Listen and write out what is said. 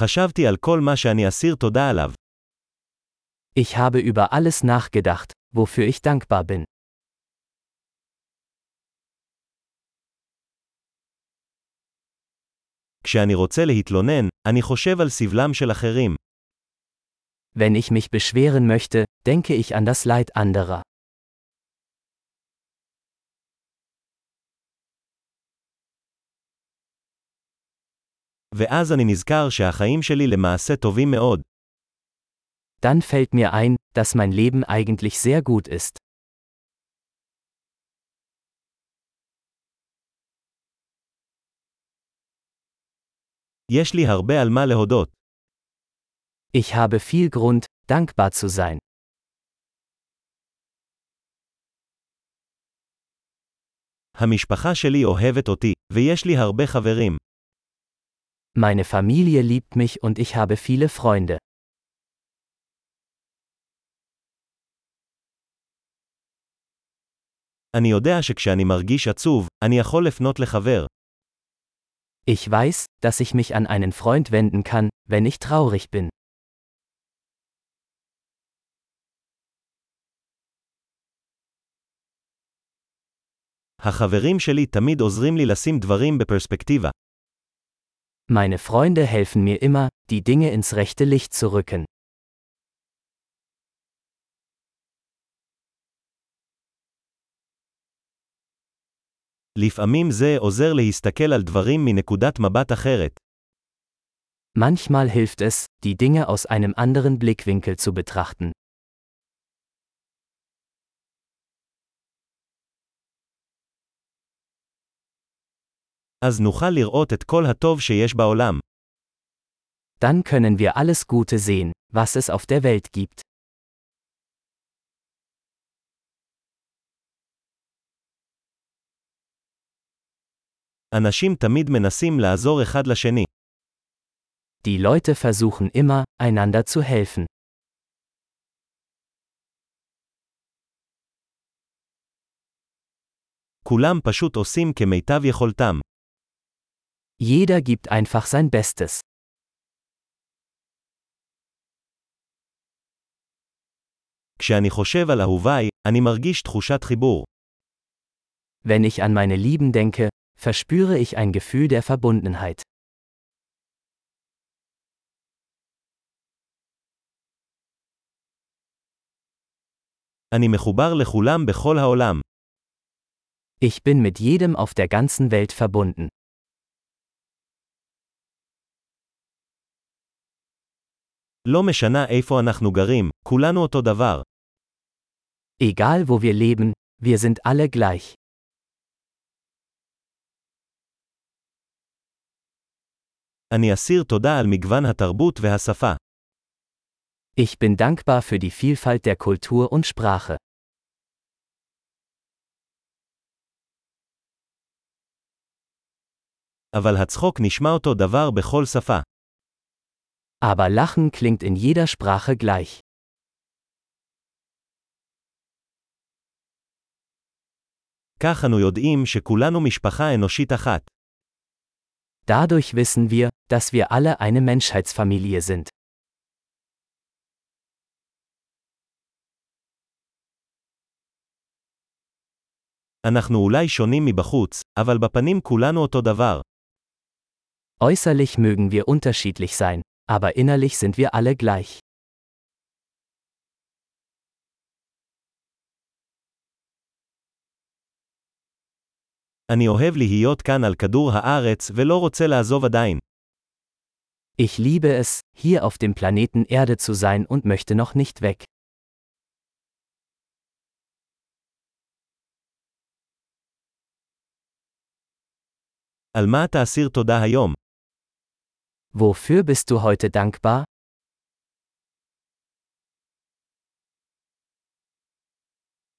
חשבתי על כל מה שאני אסיר תודה עליו. Ich habe über alles nachgedacht, wofür ich dankbar bin. כשאני רוצה להתלונן, אני חושב על סבלם של אחרים. Wenn ich mich beschweren möchte, denke ich an das Leid anderer. ואז אני נזכר שהחיים שלי למעשה טובים מאוד. Dann fällt mir ein, dass mein Leben eigentlich sehr gut ist. יש לי הרבה על מה להודות. Ich habe viel Grund, dankbar zu sein. המשפחה שלי אוהבת אותי, ויש לי הרבה חברים. Meine Familie liebt mich und ich habe viele Freunde. אני יודע שכשאני מרגיש עצוב, אני יכול לפנות לחבר. Ich weiß, dass ich mich an einen Freund wenden kann, wenn ich traurig bin. החברים שלי תמיד עוזרים לי לשים דברים בפרספקטיבה. Meine Freunde helfen mir immer, die Dinge ins rechte Licht zu rücken. לפעמים זה עוזר להסתכל על דברים מנקודת מבט אחרת. Manchmal hilft es, die Dinge aus einem anderen Blickwinkel zu betrachten. אז נוכל לראות את כל הטוב שיש בעולם. Dann können wir alles Gute sehen, was es auf der Welt gibt. אנשים תמיד מנסים לעזור אחד לשני. Die Leute versuchen immer, einander zu helfen. כולם פשוט עושים כמיטב יכולתם. Jeder gibt einfach sein Bestes. כשאני חושב על אהוביי, אני מרגיש תחושת חיבור. Wenn ich an meine Lieben denke, verspüre ich ein Gefühl der Verbundenheit. אני מחובר לכולם בכל העולם. Ich bin mit jedem auf der ganzen Welt verbunden. לא משנה איפה אנחנו גרים, כולנו אותו דבר. Egal wo wir leben, wir sind alle gleich. אני אסיר תודה על מגוון התרבות והשפה. Ich bin dankbar für die Vielfalt der Kultur und Sprache. אבל הצחוק נשמע אותו דבר בכל שפה. Aber Lachen klingt in jeder Sprache gleich. כך אנו יודעים שכולנו משפחה אנושית אחת. Dadurch wissen wir, dass wir alle eine Menschheitsfamilie sind. אנחנו אולי שונים מבחוץ, אבל בפנים כולנו אותו דבר. Äußerlich mögen wir unterschiedlich sein, aber innerlich sind wir alle gleich. אני אוהב להיות כאן על כדור הארץ ולא רוצה לעזוב עדיין. Ich liebe es, hier auf dem Planeten Erde zu sein und möchte noch nicht weg. על מה אתה אסיר תודה היום? Wofür bist du heute dankbar?